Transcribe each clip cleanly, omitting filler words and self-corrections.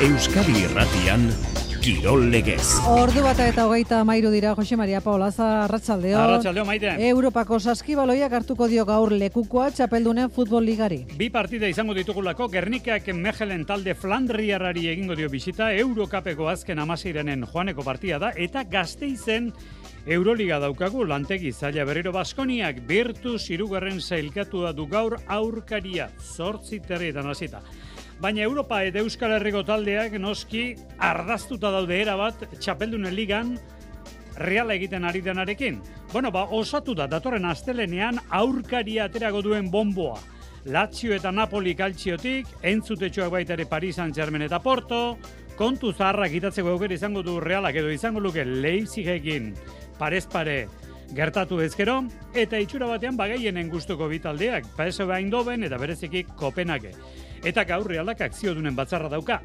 Euskadi Irratian Kirol Legez. Ordu 1:23 dira. Jose Maria Paulaza, arratsaldeo. Arratsaldeo, Maite. Europako saskibaloiak hartuko dio gaur lekukoa txapeldunen futbol ligari. Bi partida izango ditugulako. Gernikak Mechelen talde Flandriarrari egingo dio bisita. Eurokapeko azken 16 joaneko partida da eta Gasteizen Euroliga daukagu. Lantegi zaila berriro Baskoniak Virtus 3. sailkatua du gaur aurkaria 8:00 hasita. Baina Europa eta Euskal Herriko taldeak noski ardaztuta daude erabat txapeldunen ligan Reala egiten ari denarekin. Osatu da datorren astelenean aurkaria aterago duen bonboa. Lazio eta Napoli kaltziotik, entzutetxoak baita ere Paris Saint-Germain eta Porto, kontu zaharrak itatzeko aukera izango du Realak edo izango luke Leipzigekin parez pare gertatu ezkero, eta itxura batean bagaienen gustuko bitaldeak, PSV Eindhoven eta bereziki Kopenhage. Eta gaur Realak akziodunen batzarra dauka,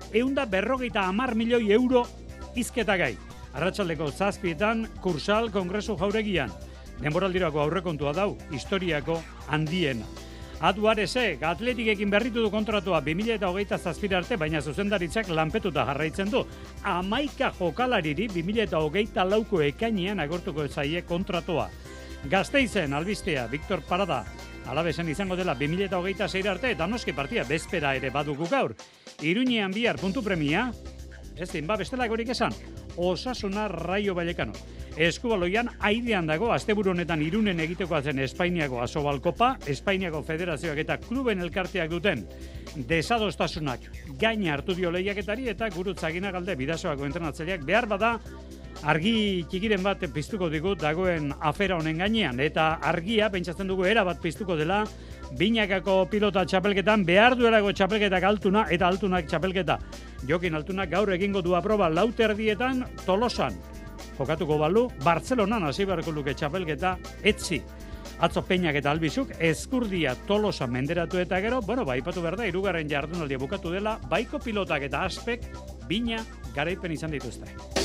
150 milioi euro izketagai. Arratsaldeko 7:00 Kursal Kongresu jauregian. Denboraldirako aurrekontua dau, historiako handiena. Aduarese, Atletikekin berritu du kontratua 2027 arte, baina zuzendaritzak lanpetuta jarraitzen du. 11 jokalariri 2024ko ekainean agortuko zaie kontratua. Gasteizen albistea, Victor Parada, Alabesen izango dela 2026 arte, eta noski partia bezpera ere badugu gaur. Iruñean bihar puntu premia, ez din, bestelakorik esan, Osasuna Raio Vallecano. Eskubaloian aidean dago, asteburu honetan Irunen egitekoa zen Espainiako Asobalkopa, Espainiako Federazioak eta kluben elkarteak duten desadostasunak gaina hartu dio lehiaketari eta Gurutzagina galde Bidasoako entrenatzaileak behar bada argi txikiren bat piztuko digu dagoen afera honen gainean, eta argia pentsatzen dugu era bat piztuko dela Binakako pilota txapelketan behar duelako txapelketak Altuna eta Altunak txapelketa. Jokin Altunak gaur egingo du aproba 4:00 Tolosan. Jokatuko balu, Bartzelonan hasi beharko luke txapelketa etzi. Atzo Peñak eta Albizuk Eskurdia Tolosa menderatu eta gero, aipatu behar da, 3. jardunaldia bukatu dela, baiko pilotak eta aspek bina garaipen izan dituzte.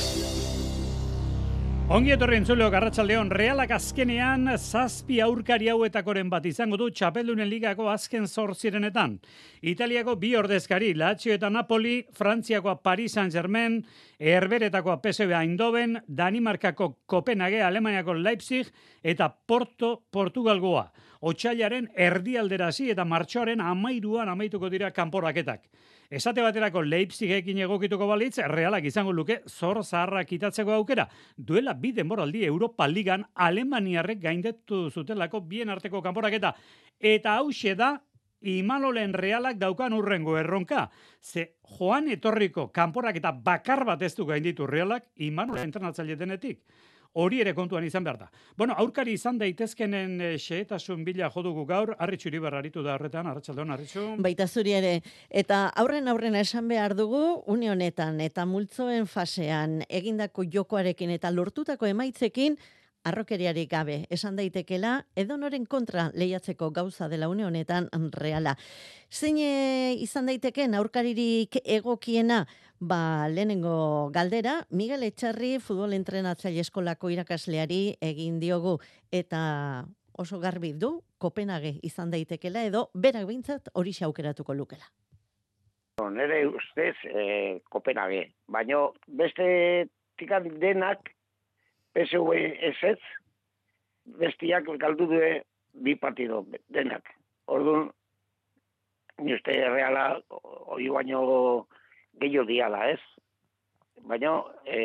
Ongi etorri entzuleok, arratsaldeon. Realak azkenean 7 aurkari hauetakoren bat izango du txapeldunen ligako azken 8-etan. Italiako 2 ordezkari, Lazio eta Napoli, Frantziakoa Paris Saint-Germain, Herberetakoa PSV Eindhoven, Danimarkako Kopenhage, Alemaniako Leipzig eta Porto Portugalgoa. Otsailaren erdialderasi eta martxoaren 13 amaituko dira kanporaketak. Esate baterako Leipzigekin egokituko balitz, Realak izango luke zor zaharrak itatzeko aukera. Duela 2 denboraldi Europa Ligan Alemaniarrek gaindetu zutelako bien arteko kanporaketa. Eta hauxe da Imanolen Realak daukan urrengo erronka. Ze joan etorriko kanporaketa bakar bat ez du gainditu Realak Imanolen entrenatzaile denetik. Hori ere kontuan izan behar da. Aurkari izan daitezkenen xehetasun bila jodugu gaur, Arritxu Iribar aritu da horretan, arratsaldeon Arritxu. Baita zuri ere, eta aurren esan behar dugu, une honetan eta multzoen fasean egindako jokoarekin eta lortutako emaitzekin, arrokeriarik gabe, esan daitekela, edonoren kontra lehiatzeko gauza dela une honetan Reala. Zein izan daiteken aurkaririk egokiena, lehenengo galdera, Miguel Etxarri futbol entrenatzaile eskolako irakasleari egin diogu, eta oso garbi du, Kopenhage izan daitekela, edo berak behintzat hori aukeratuko lukela. Nere ustez Kopenhage, baina beste tikan denak PSV ez, bestiak galdu du 2 partido denak. Orduan, ni uste Reala hori baino gehiago diala, ez? Baina,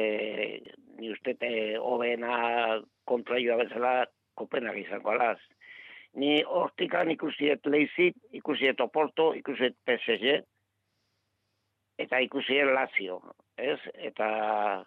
ni uste hobena kontraioa bezala Kopenhage izango alaz. Ni hortikan ikusiet Leipzig, ikusiet Oporto, ikusiet PSG, eta ikusiet Lazio, ez? Eta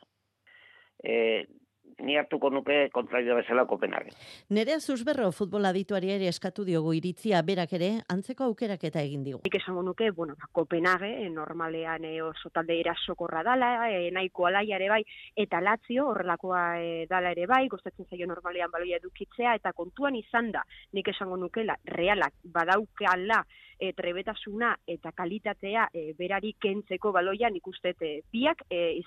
ni hartuko nuke kontraioa bezala Kopenhage. Nerea Zuzberro futbol adituari ere eskatu diogu iritzia berak ere antzeko aukerak eta egin digu. Nik esango nuke, Kopenhage normalean oso talde erasokorra dala, nahiko alaia ere bai, eta Lazio horrelakoa dala ere bai, gustatzen zaio normalean baloia edukitzea, eta kontuan izan da, nik esango nukela, Realak badaukala trebetasuna eta kalitatea berari kentzeko baloian ikustet biak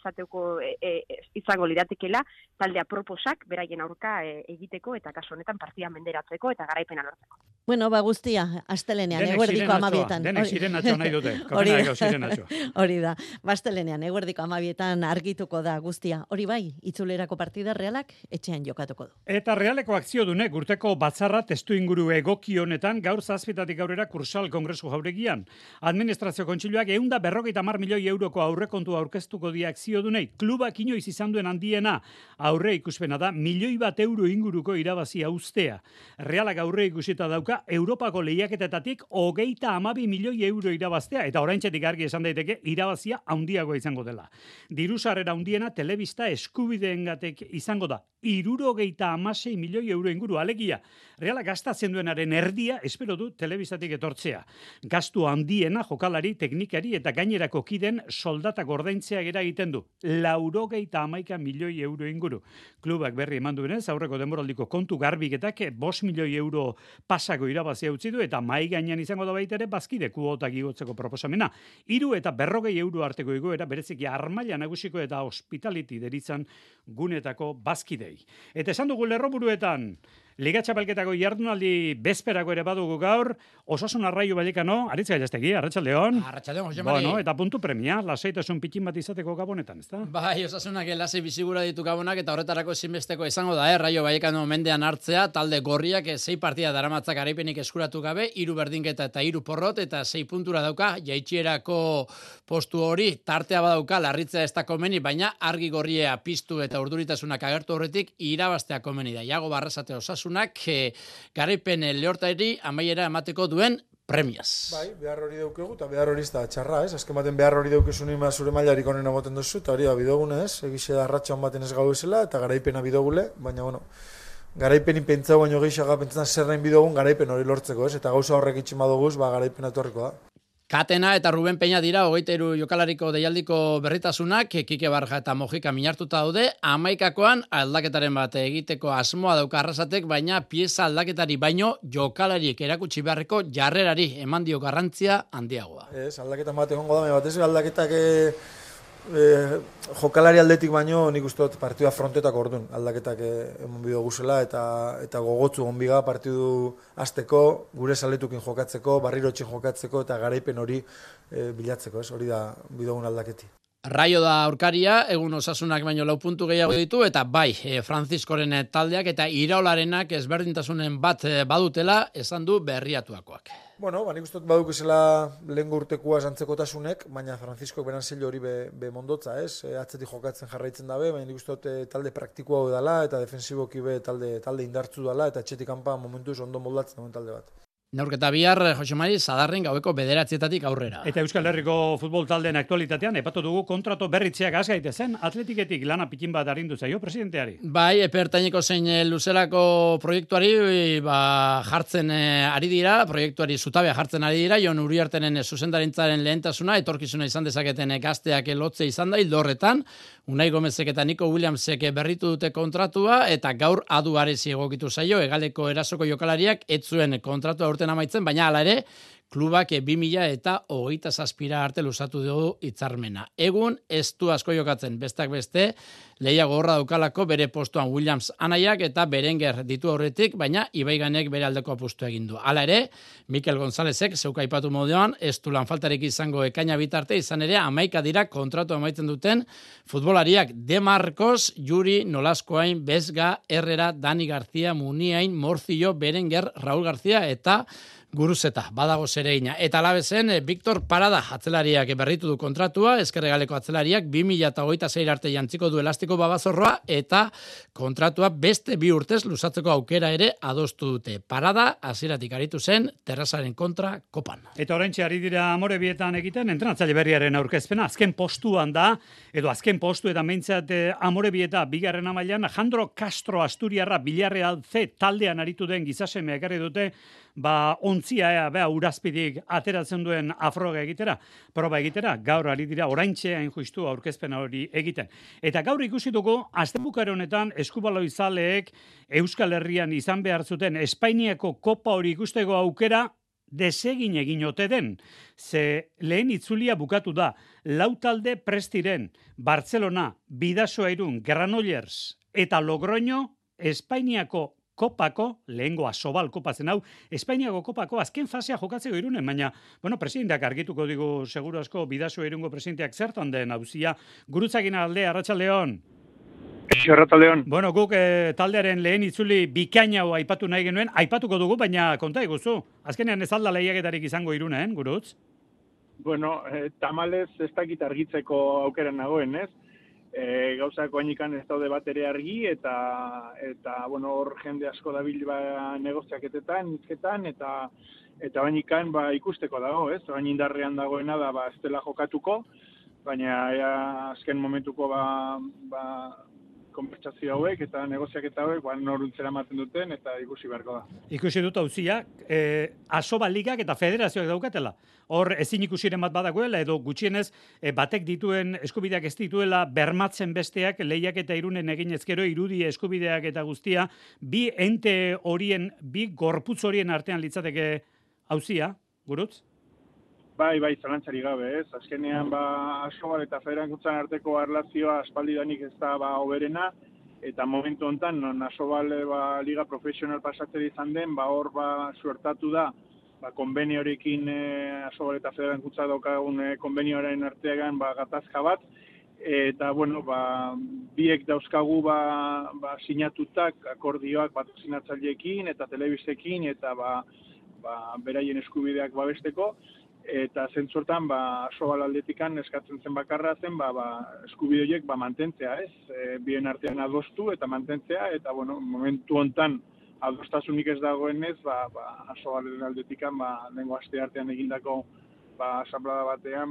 izango liratekela talde aproposak beraien aurka egiteko eta kasu honetan partida menderatzeko eta garaipena lortzeko. Bueno, guztia, astelenean, eguerdiko 12etan. Denek zirenatxo nahi dute. Hori da, astelenean, eguerdiko 12etan argituko da guztia. Hori bai, itzulerako partida Realak etxean jokatuko du. Eta Realeko akziodunek urteko batzarra testu inguru egoki honetan gaur 7:00 aurrera Kursal Kongresu jauregian. Administrazio kontseiluak 150 milioi euroko aurrekontua aurkeztuko die akziodunei. Klubak inoiz izan duen handiena aurre ikuspena da 1 milioi euro inguruko irabazia uztea. Realak aurre ikusita dauka Europako lehiaketetatik 32 milioi euro irabaztea eta oraintzetik argi esan daiteke irabazia handiagoa izango dela. Dirusarrera handiena telebista eskubideengatik izango da 76 milioi euro inguru alegia. Realak gastatzen duenaren erdia espero du telebistatik etortzea. Gastu handiena jokalari, teknikari eta gainerako kiden soldatak ordaintzea gera egiten du. 81 milioi euro inguru. Klubak berri eman duenez, aurreko denboraldiko kontu garbiketak 5 milioi euro pasako irabazia utzi du eta mai gainean izango da baita ere bazkide kuotak igotzeko proposamena. 3 eta 40 euro arteko igoera bereziki armaila nagusiko eta hospitality deritzan gunetako bazkidei. Eta esan dugu lerroburuetan, Liga Txapelketako jardunaldi bezperako ere badugu gaur, Osasun Arraio Vallecano, Aritz Gallastegi, Arratsaldeon. Arratsaldeon, Jose Mari. Bueno, eta puntu premia, lasaitasun pitin bat izateko Gabonetan, ezta? Bai, Osasunak lasai bizigura ditu Gabonak eta horretarako ezinbesteko izango da, Raio Vallecano mendean hartzea, talde gorriak 6 partida daramatzak garaipenik eskuratu gabe, 3 berdinketa eta 3 porrot eta 6 puntura dauka, jaitsierako postu hori tartea badauka, larritzea ez da komeni, baina argi gorria piztu eta urduritasunak agertu horretik irabaztea komeni da. Iago Barrasate Osasunak garaipen lehortairi amaiera emateko duen premiaz. Bai, behar hori daukegu, eta behar hori ez da txarra, ez? Azken baten behar hori daukezu nima zure mailarik onena moten duzu, eta hori da bidogune, ez? Egixe da arratxan baten ez gau ezela, eta garaipena bidogule, baina, bueno, garaipenin pentsau baino gehiago pentsan zer nahin bidogun garaipen hori lortzeko, ez? Eta gauza horrek itxin badoguz, garaipena etorriko da. Katena eta Ruben Peña dira 23 jokalariko deialdiko berritasunak, Kike Barja eta Mojika minartuta daude, 11koan aldaketaren bat egiteko asmoa dauka Arrasatek, baina pieza aldaketari baino jokalariek erakutsi beharreko jarrerari eman dio garrantzia handiagoa. Ez, aldaketan bat egongo da, bat ez aldaketak jokalari aldetik baino nik uste dut partidua frontetako orduan aldaketak eman bido guzela eta gogotzu gonbiga partidu azteko, gure saletukin jokatzeko, barrirotxin jokatzeko eta garaipen hori bilatzeko, ez? Hori da bidogun aldaketi. Raio da aurkaria, egun Osasunak baino 4 puntu gehiago ditu, eta bai, Franziskoren taldeak eta Iraolarenak ezberdintasunen bat badutela, esan du berriatuakoak. Bueno, nik uste dut baduk esela lehen urtekoa zantzekotasunek, baina Franziskok beran zelo hori be mondotza, ez? Atzetik jokatzen jarraitzen dabe, baina nik uste dut talde praktikoa dela eta defensiboki be talde indartzu dela eta etxetik kanpa momentuz ondo moldatzen duen talde bat. Neurketa bihar, Jose Mari, Sadarren gaueko 9:00 aurrera. Eta Euskal Herriko futbol taldeen aktualitatean, epatu dugu kontrato berritzeak gaitezen, Atletiketik lana pikin bat arindu zaio presidenteari. Bai, epertaineko zein luzerako proiektuari jartzen ari dira, proiektuari zutabea jartzen ari dira, Jon Uriartenen zuzendarintzaren lehentasuna, etorkizuna izan dezaketen gazteak lotze izan da, hildo horretan, Unai Gomezek eta Nico Williamsek berritu dute kontratua, eta gaur adu arezi egokitu zaio, Hegaleko erasoko jokalariak ez zuen kontratua urten amaitzen, baina hala ere, klubak 2027 arte luzatu dugu hitzarmena. Egun ez du asko jokatzen, bestak beste, lehia gogorra daukalako bere postuan Williams anaiak eta Berenguer ditu horretik, baina Ibaiganek bere aldeko apustu egin du. Hala ere, Mikel Gonzálezek zeuka aipatu moduan, ez du lan faltarik izango ekaina bitarte, izan ere 11 dira kontratu amaitzen duten futbolariak De Marcos, Yuri, Nolaskoain, Besga, Herrera, Dani García, Muniain, Morcillo, Berenguer, Raúl García eta Guruzeta, badago zereina. Eta alabezen, Victor Parada atzelariak berritu du kontratua, Ezkerregaleko atzelariak 2026 arte jantziko du elastiko babazorroa, eta kontratua beste 2 urtez luzatzeko aukera ere adostu dute. Parada, hasieratik aritu zen, Terrazaren kontra kopan. Eta oraintxe ari dira Amorebietan egiten, entrenatzaile berriaren aurkezpena, azken postuan da, edo azken postu eta meintzat Amorebieta bigarren amailan, Jandro Castro Asturiarra Villarreal C taldean aritu den gizaseme ekarri dute, ontzia urazpidik ateratzen duen afroga egitera, proba egitera, gaur ari dira oraintxe hain justu aurkezpena hori egiten. Eta gaur ikusi dugu, astebukare honetan eskubaloi zaleek Euskal Herrian izan behar zuten Espainiako kopa hori ikusteko aukera desegin egin ote den. Ze lehen itzulia bukatu da, 4 talde prestiren, Barcelona, Bidasoa Irun, Granollers eta Logroño, Espainiako Kopako, lehengoa Sobal kopatzen hau, Espainiako Kopako azken fasea jokatzeko Irunen, baina, presidenteak argituko digu seguru asko Bidasoa Irungo presidenteak zertan den auzia. Gurutzagin alde, Arratsaldeon. Arratsaldeon. Guk taldearen lehen itzuli bikaina hau aipatu nahi genuen, aipatuko dugu, baina konta iguzu. Azkenean ez alda lehiaketarik izango Irunen, Gurutz? Tamalez ez dakit argitzeko aukeran nagoen, ez? Gauzak oainikan ez daude bat ere argi, eta hor jende asko dabil negoziaketetan, hizketan, eta oainikan ikusteko dago, ez? Oain indarrean dagoena da ez dela jokatuko, baina azken momentuko konbertsazio hauek eta negoziaketa hauek noruntzera ematen duten eta ikusi beharko da. Ikusi dut auzia, Asoba ligak eta federazioak daukatela. Hor ezin ikusiren bat badagoela edo gutxienez batek dituen eskubideak ez dituela bermatzen besteak lehiak eta Irunen egin ezkero irudi eskubideak eta guztia bi ente horien, bi gorputz horien artean litzateke auzia, Gurutz? Bai, zalantzari gabe, ez? Azkenean, Asobal eta federantzan arteko erlazioa aspaldidanik ez da hoberena, eta momentu honetan, non Asobal liga profesional pasatzen izan den, hor suertatu da, konbeniorekin Asobal eta federantzan daukagun konbenioaren artean gatazka bat, eta, biek dauzkagu sinatutak akordioak patrozinatzaileekin eta telebistekin, eta beraien eskubideak babesteko, eta zentzortan Asobal aldetikan eskatzen zen bakarra zen eskubide horiek mantentzea, ez? Bien artean adostu eta mantentzea, eta momentu hontan adostasunik ez dagoenez, Asobal aldetikan lehengo aste artean egindako asamblada batean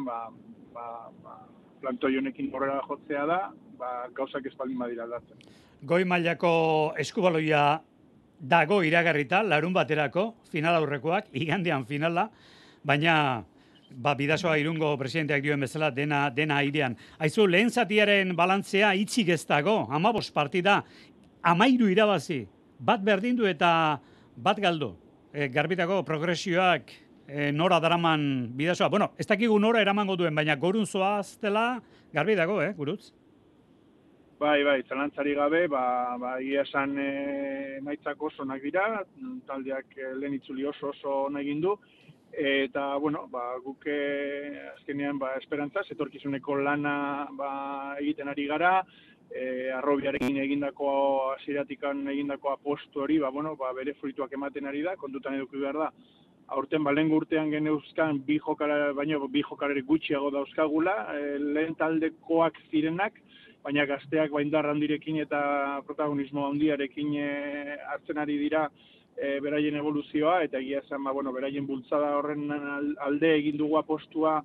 plantoi honekin horrela jotzea da, gauzak espaldin badira aldatzen. Goi mailako eskubaloia dago iragarrita, larun baterako, final aurrekoak, igandean finala, baina Bidasoa Irungo presidenteak dioen bezala dena airean. Aizu, lehen zatiaren balantzea itxik ez dago, 15 partida, 13 irabazi, bat berdindu eta bat galdu. Garbitako progresioak nora daraman Bidasoa. Ez dakigu nora eramango duen, baina gorun zoaztela garbi dago, Gurutz? Bai, zalantzari gabe, egia esan emaitzak oso onak dira, taldeak lehen itzuli oso onak egin du, eta, guk azkenean esperantzaz, etorkizuneko lana egiten ari gara, Arrobiarekin egindako hasieratikan egindako apostu hori, bere fruituak ematen ari da, kontutan eduki behar da. Aurten lehengo urtean geneuzkan bi jokalari gutxiago dauzkagula, lehen taldekoak zirenak, baina gazteak indar handirekin eta protagonismo handiarekin hartzen ari dira beraien evoluzioa, eta egia esan, beraien bultzada horren alde egin dugu apostua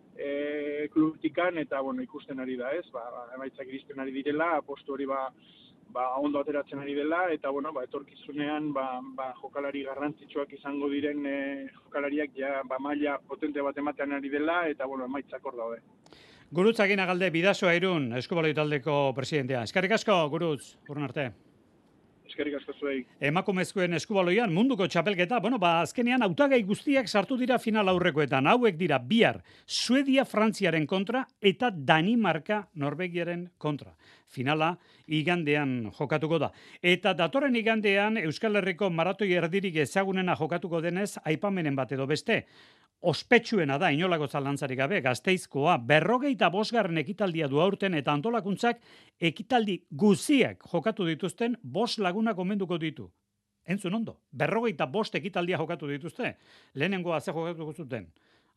klubtikan, eta ikusten ari da, ez? Emaitzak iristen ari direla, apostu hori ondo ateratzen ari dela, eta etorkizunean jokalari garrantzitsuak izango diren jokalariak maila potente bat ematen ari dela, eta emaitzak hor daude. Gurutz Aginagalde, Bidasoa Irun, eskubaloi taldeko presidentea. Eskerrik asko, Gurutz, urrun arte. Eskerrik asko zuei. Emakumezkoen eskubaloian munduko txapelketa, azkenean hautagai guztiak sartu dira final aurrekoetan. Hauek dira bihar Suedia Frantziaren kontra eta Danimarka Norvegiaren kontra. Finala igandean jokatuko da. Eta datorren igandean Euskal Herriko maratoi erdirik ezagunena jokatuko denez aipamenen bat edo beste. Ospetsuena da, inolako zalantzarik gabe, Gasteizkoa 45. ekitaldia du aurten eta antolakuntzak ekitaldi guziak jokatu dituzten 5 lagunak omenduko ditu. Entzun ondo, 45 ekitaldia jokatu dituzte. Lehenengoa ze jokatuko zuten.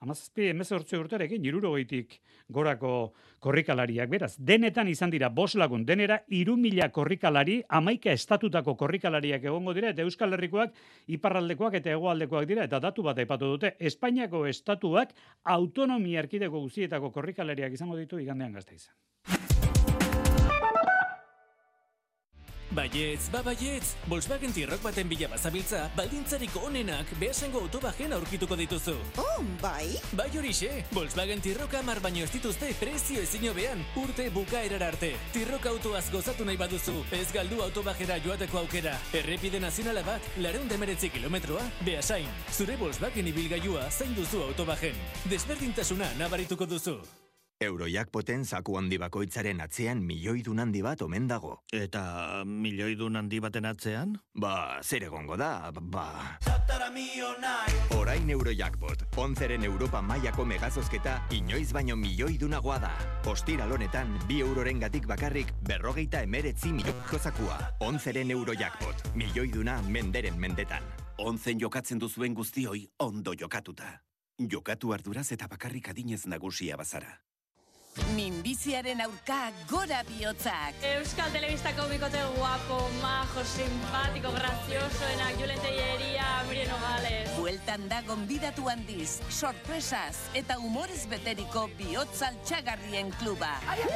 17 urterekin 60 gorako korrikalariak, beraz. Denetan izan dira 5 lagun, denera 3.000 korrikalari, 11 estatutako korrikalariak egongo dira, eta Euskal Herrikoak, iparraldekoak eta hegoaldekoak dira, eta datu bat aipatu dute. Espainiako estatuak autonomia erkidego guztietako korrikalariak izango ditu igandean Gasteizen. Baietz, baietz, Volkswagen T-Roc baten bila bazabiltza, baldintzariko onenak behasengo autobajen aurkituko dituzu. Oh, bai? Bai horixe, Volkswagen T-Roc 10 baino ez dituzte prezio ezin hobean, urte bukaerara arte. T-Roc autoaz gozatu nahi baduzu, ez galdu autobajera joateko aukera. Errepide nazionala bat, 219 kilometroa, Beasain. Zure Volkswagen ibilgailua zain duzu autobajen. Desberdintasuna nabarituko duzu. Eurojackpoten zaku handi bakoitzaren atzean milioidun handi bat omen dago. Eta milioidun handi baten atzean? Zer egongo da, Orain Eurojackpot, 11ren Europa mailako megazozketa inoiz baino milioidunagoa da. Ostiral honetan, 2 euroren gatik bakarrik 59 milioiko zakua. 11ren Eurojackpot, milioiduna menderen mendetan. 11 jokatzen duzuen guztioi ondo jokatuta. Jokatu arduraz eta bakarrik adinez nagusia bazara. Minbiziaren aurka gora bihotzak. Euskal Telebistako bikote guapo, majo, simpático, graciosoenak, Julen Tellería, Miriam Nogales. Bueltan da gonbidatu handiz, sorpresas eta humorez beteriko bihotz altxagarrien kluba.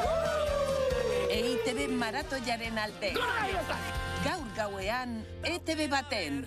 EITB maratoiaren alde. Gaur gauean, ETB baten.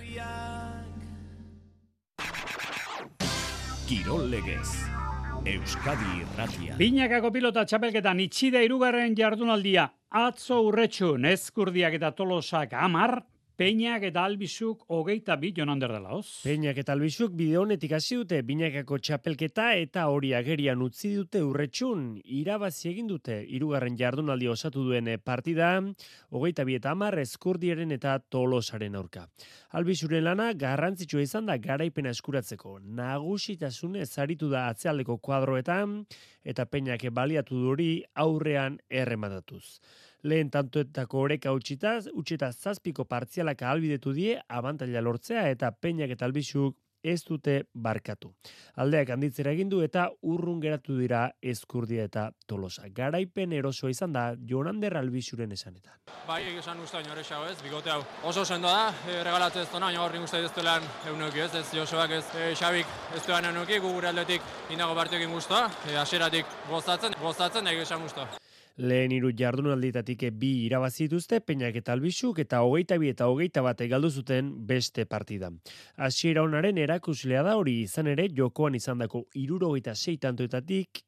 Kirol Legez. Euskadi Irratia. Binakako pilota txapelketan itxida 3. jardunaldia. Atzo Urretxun, Ezkurdiak eta Tolosak 10, Peñak eta Albizuk 22 Jonander de Laoz. Peñak eta Albizuk bide honetik hasi dute Binakako txapelketa eta hori agerian utzi dute Urretxun. Irabazi egin dute 3. jardunaldi osatu duen partida, 22 eta 10 Ezkurdiaren eta Tolosaren aurka. Albizuren lana garrantzitsua izan da garaipena eskuratzeko. Nagusitasunez aritu da atzealdeko kuadroetan eta Peñak baliatu duri aurrean errematatuz. Lehen tantoetako oreka utxita 7 partzialak ahalbidetu die abantaila lortzea eta Peñak eta Albizuk ez dute barkatu. Aldeak handitzera egin du eta urrun geratu dira Ezkurdia eta Tolosa. Garaipen erosoa izan da Jonander Albizuren esanetan. Bai, esan usta inoresago ez, bikote hau. Oso sendo da, regalatu ez duna, gaur nik uste ez duelan eunuki ez Josoak ez, Xabik ez duelan eunuki, gure aldetik indago partiokin guztua, aseratik gozatzen, nahi esan guztua. Lehen 3 jardunaldietatik 2 irabazi dituzte Peñak eta Albizuk eta 22 eta 21 galdu zuten beste partida. Hasiera onaren erakuslea da hori izan ere jokoan izandako 76 tantoetatik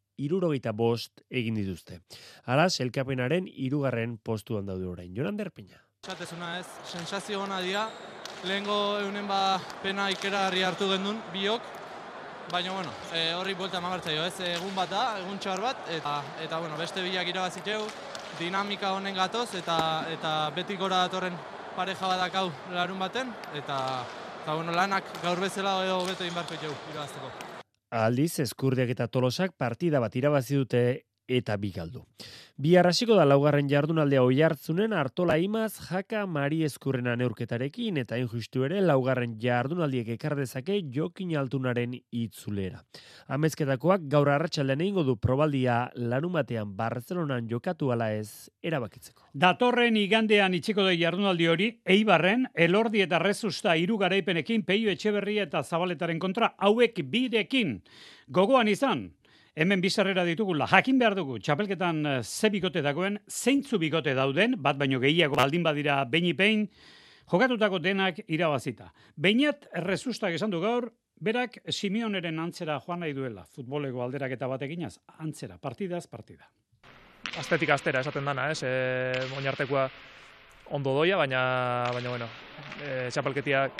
75 egin dituzte. Hala, sailkapenaren 3. postuan daude orain. Jonander Peña. Esatezuna ez, sensazio ona dira, lehengo eunen pena ikeragarri hartu gendun, biok, baina, horri buelta emagartzaio, ez, egun bat da, egun txar bat, eta beste bilak irabaziteu, dinamika honen gatoz, eta beti gora datorren pareja badakau larun baten, eta lanak gaur bezala edo beto inbarko itxeu irabazteko. Aldiz, Ezkurdiak eta Tolosak partida bat irabazi dute eta 2 galdu. Bihar hasiko da 4. jardunaldea Oiartzunen Artola Imaz Jaka Mari Ezkurrena neurketarekin eta injustu ere 4. jardunaldiek ekar dezake Jokin Altunaren itzulera. Amezketakoak gaur arratsaldean egingo du probaldia larumatean Barcelonan jokatu ala ez erabakitzeko. Datorren igandean itxiko da jardunaldi hori, Eibarren, Elordi eta Rezusta 3 garaipenekin Peio Etxeberria eta Zabaletaren kontra hauek 2rekin. Gogoan izan, hemen bizarrera ditugula, jakin behar dugu, txapelketan ze bikote dagoen, zeintzu bikote dauden, bat baino gehiago baldin badira behin, jokatutako denak irabazita. Beinat Rezustak esan du gaur, berak Simeoneren antzera joan nahi duela, futboleko alderaketa bat eginaz, antzera, partidaz partida. Astetik astera esaten dana, oinartekoa ondo doia, baina txapelketiak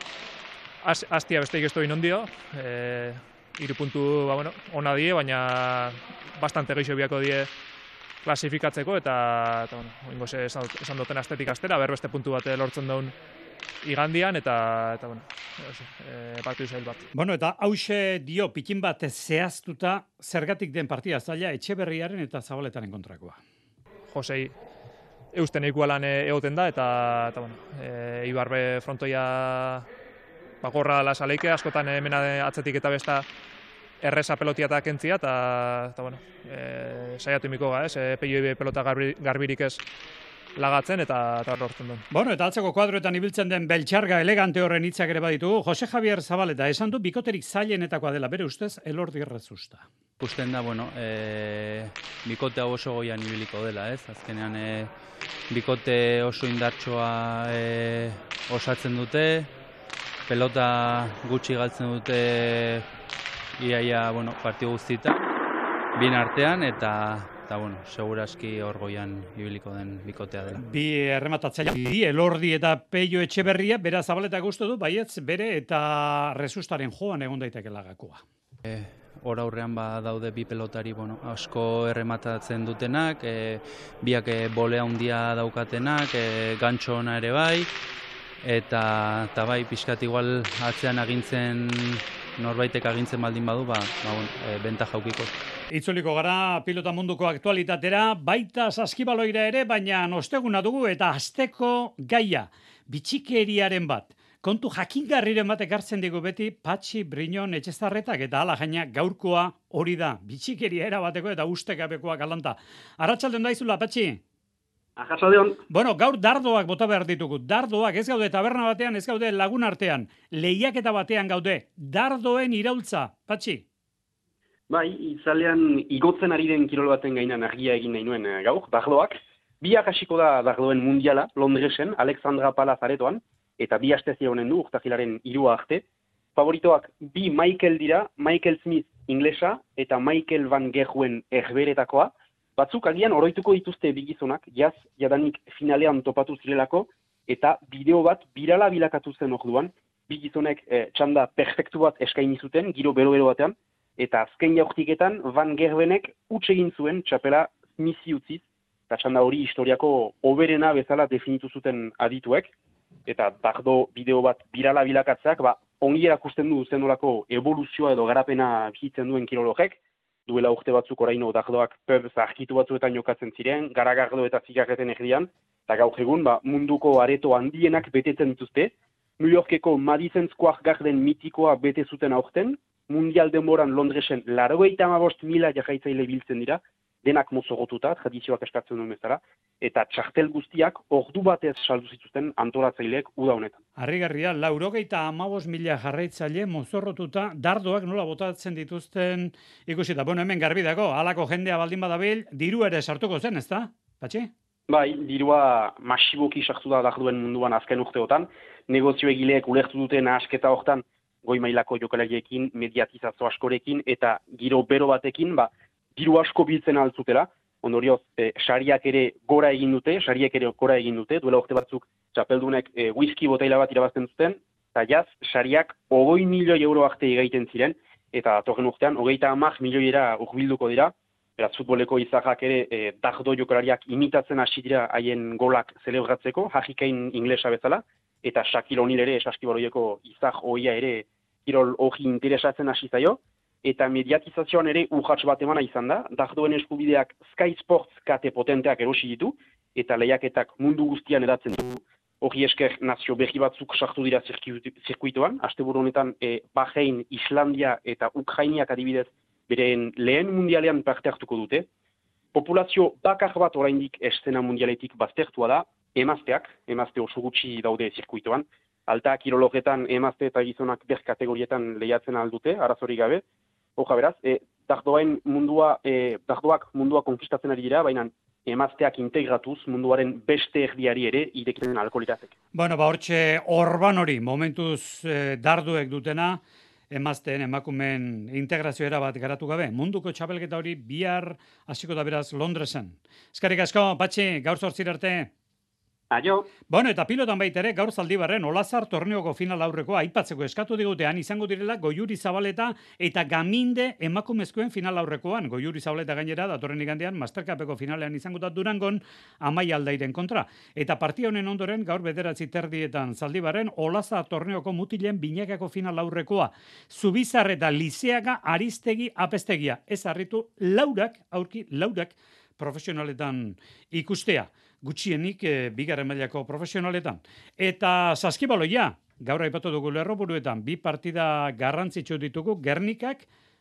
hastia besteik ez doin ondio, 3 puntu ona die, baina bastante geixo biako die klasifikatzeko eta oingoz esan duten astetik astera, berbeste puntu bat lortzen daun igandian eta partidu zail bat. Eta hause dio pikin bat zehaztuta zergatik den partida zaila Etxeberriaren eta Zabaletaren kontrakoa. Josei eusten ikualan egoten da eta Ibarbe frontoia gorra dela saleike, askotan hemen atzetik eta besta erreza pelotiatak entzia, eta saiatu imiko ga, Peio pelota garbirik ez lagatzen eta lortzen duen. Bueno, eta atzeko kuadroetan ibiltzen den beltxarga elegante horren hitzak ere baditugu. Jose Javier Zabaleta esan du bikoterik zailenetakoa dela bere ustez Elordi Errezusta. Usten da, bikote hau oso goian ibiliko dela, ez? Azkenean bikote oso indartsoa osatzen dute, pelota gutxi galtzen dute iaia, partio guztietan, bien artean, eta seguraski hor goian ibiliko den bikotea dela. Bi errematatzaile, Elordi eta Peio Etxeberria, bera Zabaleta gustu du, baietz bere eta Rezustaren joan egon daitekela gakoa. Hor aurrean daude bi pelotari asko errematatzen dutenak, biak bolea handia daukatenak, gantxo ona ere bai, eta bai, pixkat igual atzean norbaitek agintzen baldin badu, benta jaukiko. Itzuliko gara pilota munduko aktualitatera, baita saskibaloira ere, baina osteguna dugu eta asteko gaia, bitxikeriaren bat. Kontu jakingarriren batek hartzen digu beti Patxi Briñon Etxezarretak eta hala jaina gaurkoa hori da. Bitxikeria erabateko eta ustekabekoa galanta. Arratsaldeon daizula, Patxi? Arratsaldeon. Bueno, gaur dardoak bota behar ditugu. Dardoak ez gaude taberna batean, ez gaude lagun artean. Lehiaketa batean gaude. Dardoen iraultza, Patxi? Bai, itzalean igotzen ari den kirol baten gainan argia egin nahi nuen gaur, dardoak. Biak hasiko da dardoen mundiala, Londresen, Alexandra Palaz aretoan. Eta bi astezia honen du, urtahilaren 3 arte. Favoritoak bi Michael dira, Michael Smith inglesa eta Michael Van Gerwen erberetakoa. Batzuk agian oroituko dituzte bigizonak, jadanik finalean topatu zirelako, eta bideo bat birala bilakatu zen orduan, bigizonek txanda perfektu bat eskaini zuten, giro bero-bero batean, eta azken jaurtiketan Van Gerwenek huts egin zuen txapela Smithi utziz, eta txanda hori historiako hoberena bezala definitu zuten adituek. Eta dardo bideo bat birala bilakatzeak, ongi erakusten du zenolako evoluzioa edo garapena bizitzen duen kirologek, duela urte batzuk oraino dardoak zarkitu batzuetan jokatzen ziren, garagardo eta zigarreten erdian, eta gaur egun munduko areto handienak betetzen dituzte, New Yorkeko Madison Square Garden mitikoa bete zuten aurten, mundial denboran Londresen 95.000 jarraitzaile biltzen dira, denak mozorrotuta, tradizioak eskatzen duen bezala, eta txartel guztiak ordu batez saldu zituzten antolatzaileek uda honetan. Harrigarria, 95.000 jarraitzaile mozorrotuta, dardoak nola botatzen dituzten ikusita. Bueno, hemen garbi dago, halako jendea baldin badabil, diru ere sartuko zen, ezta? Patxi? Bai, dirua masiboki sartu da dardoen munduan azken urteotan, negozio egileek ulertu duten asketa hortan, goi mailako jokalariekin, mediatizazio askorekin, eta giro bero batekin, diru asko biltzen altzutela, ondorioz, sariak ere gora egin dute, duela urte batzuk txapeldunek whisky botaila bat irabazten zuten, eta sariak 20 milioi euro arte egaiten ziren, eta datorren urtean, 30 milioiera urbilduko dira, beraz, futboleko izahak ere dardo jokalariak imitatzen hasi dira haien golak zelebratzeko, hajikain inglesa bezala, eta Shaquille O'Neal ere, saskibaloieko izah hoia ere, kirol hori interesatzen hasi zaio, eta mediatizazioan ere urratx bat emana izan da, dardoen eskubideak Sky Sports kate potenteak erosi ditu, eta lehiaketak mundu guztian edatzen ditu. Hori esker nazio berri batzuk sartu dira zirkuitoan, asteburu honetan Bahrein, Islandia eta Ukrainiak adibidez beren lehen mundialean parte hartuko dute. Populazio bakar bat oraindik eszena mundialetik baztertua da, emazte oso gutxi daude zirkuitoan, alta kirologetan emazte eta gizonak ber kategorietan lehiatzen aldute, arazorik gabe. Hoja beraz, dardoak mundua konkistatzen ari dira, baina emazteak integratuz munduaren beste erdiari ere irekitzen alko lirateke. Bueno, hortxe orban hori, momentuz darduek dutena, emazteen emakumeen integrazioera bat garatu gabe. Munduko txapelketa hori bihar hasiko da beraz Londresen. Eskerrik asko, Patxi, gaur 8 arte. Aio. Bueno, eta pilotan baita ere, gaur Zaldibarren Olazar torneoko final aurrekoa aipatzeko eskatu digutean izango direla Goiuri Zabaleta eta Gaminde emakumezkoen final aurrekoan. Goiuri Zabaleta gainera datorren igandean Mastercupeko finalean izango da Durangon Amaia Aldairen kontra. Eta partia honen ondoren gaur 9:30 Zaldibarren Olazar torneoko mutilen binakako final aurrekoa. Zubizar eta Lizeaga Aristegi Apestegia. Ez harritu laurak profesionaletan ikustea. Gutxienik bigarren mailako profesionaletan. Eta saskibaloia, gaur aipatu dugu lerroburuetan, bi partida garrantzitsu ditugu, Gernikak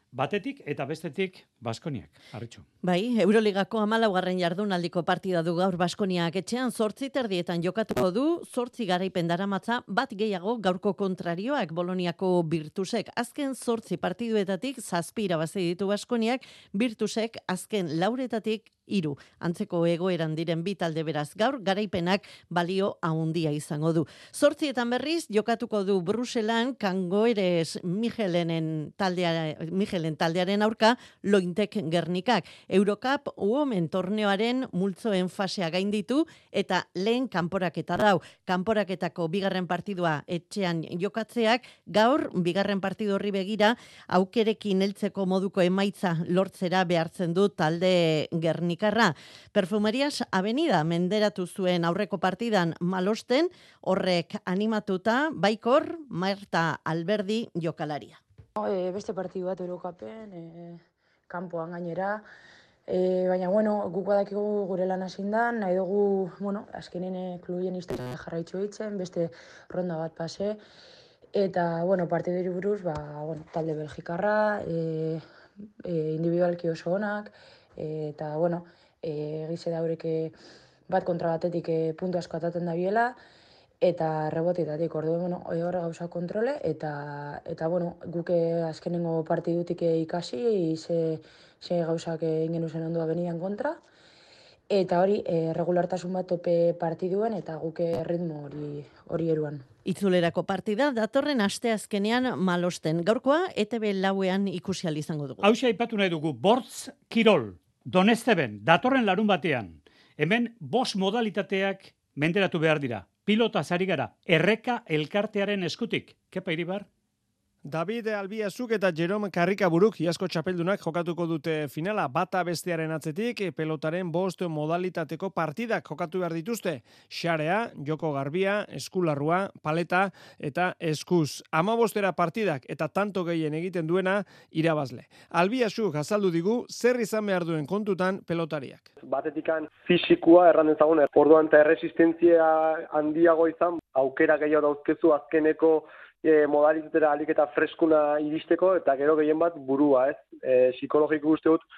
batetik eta bestetik Baskoniak, Arritxu. Bai, Euroligako 14. jardunaldiko partida du gaur Baskoniak etxean 8:30 jokatuko du, 8 garaipen daramatza, bat gehiago gaurko kontrarioak Boloniako Virtusek. Azken 8 partiduetatik 7 irabazi ditu Baskoniak, Virtusek azken 4etatik 3. Antzeko egoeran diren bi talde beraz gaur garaipenak balio handia izango du. 8etan berriz jokatuko du Bruselan Kangoeres Michelenen taldearen aurka Lointek Gernikak. Eurocup Women torneoaren multzoen fasea gainditu eta lehen kanporaketa dau. Kanporaketako bigarren partidua etxean jokatzeak gaur bigarren partidu horri begira aukerekin heltzeko moduko emaitza lortzera behartzen du talde Gernikarra. Perfumerias Avenida menderatu zuen aurreko partidan Malosten, horrek animatuta Baikor Marta Alberdi jokalaria. Beste partidu bat Eurocupen, kanpoan gainera, baina, guk badakigu gure lan hasindan, nahi dugu, azkenen klubien historia jarraitzu eitzen, beste ronda bat pase, eta, partiduri buruz, talde belgikarra, individualki oso onak, eta, egize daurek bat kontra batetik puntu asko ataten da biela, eta rebotetatik, orduen, horre gauza kontrole, eta guk azkenengo partidutik ikasi, ze gauzak ingen zen ondua benian kontra, eta hori, regulartasun bat tope partiduen, eta guk ritmo hori eruan. Itzulerako partida datorren asteazkenean Malosten. Gaurkoa ETB lauean ikusi ahal izango dugu. Hauxe aipatu nahi dugu, Bortz Kirol, Donesteben, datorren larun batean. Hemen 5 modalitateak menderatu behar dira. Pilota zari gara, Erreka elkartearen eskutik. Kepa Iribar? David Albiazuk eta Jerome Karrikaburuk iazko txapeldunak jokatuko dute finala, bata bestearen atzetik pelotaren 5 modalitateko partidak jokatu behar dituzte. Xarea, joko garbia, eskularrua, paleta eta eskuz. 15 partidak eta tanto gehien egiten duena irabazle. Albiazuk azaldu digu zer izan behar duen kontutan pelotariak. Batetikan fisikua erran ezagun, orduan eta erresistentzia handiago izan, aukera gehiago dauzkezu azkeneko modalitatera alik eta freskuna iristeko, eta gero gehien bat burua, psikologiko uste dut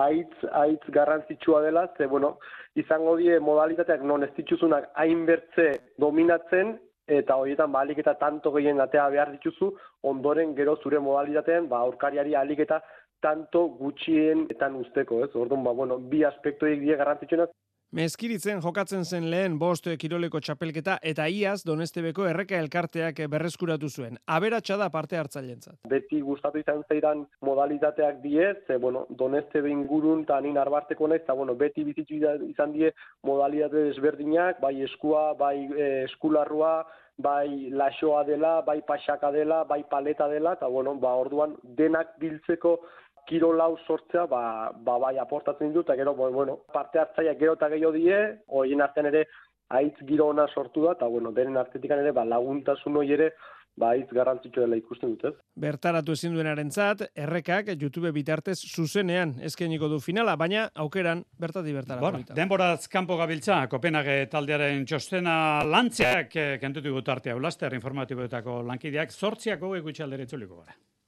haitz garrantzitsua dela, ze, izango die modalitateak non ez dituzunak hainbertze dominatzen, eta horietan alik eta tanto gehien atea behar dituzu, ondoren gero zure modalitatean, aurkariari alik eta tanto gutxienetan usteko, Orduan, bi aspektoik die garrantzitsuenak. Mezkiritzen jokatzen zen lehen 5 kiroleko txapelketa eta iaz Donestebeko Erreka elkarteak berreskuratu zuen. Aberatsa da parte hartzailentzat. Beti gustatu izan zeidan modalitateak die, ze Donestebe ingurun eta nin arbarteko naiz, eta beti bizitzu izan die modalitate desberdinak, bai eskua, bai eskularrua, bai laxoa dela, bai pasaka dela, bai paleta dela, eta orduan denak biltzeko kirolau sortzea, bai aportatzen dut, eta gero, parte hartzaileak gero eta gehiago die, horien artean ere haitz giro ona sortu da, eta denen artetikan ere laguntasun hori ere, haitz garrantzitsua dela ikusten dut, Bertaratu ezin duenarentzat, Errekak YouTube bitartez zuzenean eskainiko du finala, baina aukeran bertatik bertara. Denboraz kanpo gabiltza, Kopenhague taldearen txostena lantzeak kentutu gutartea Ulaster informatiboetako lankideak 8 gutxi aldera itzuliko gara.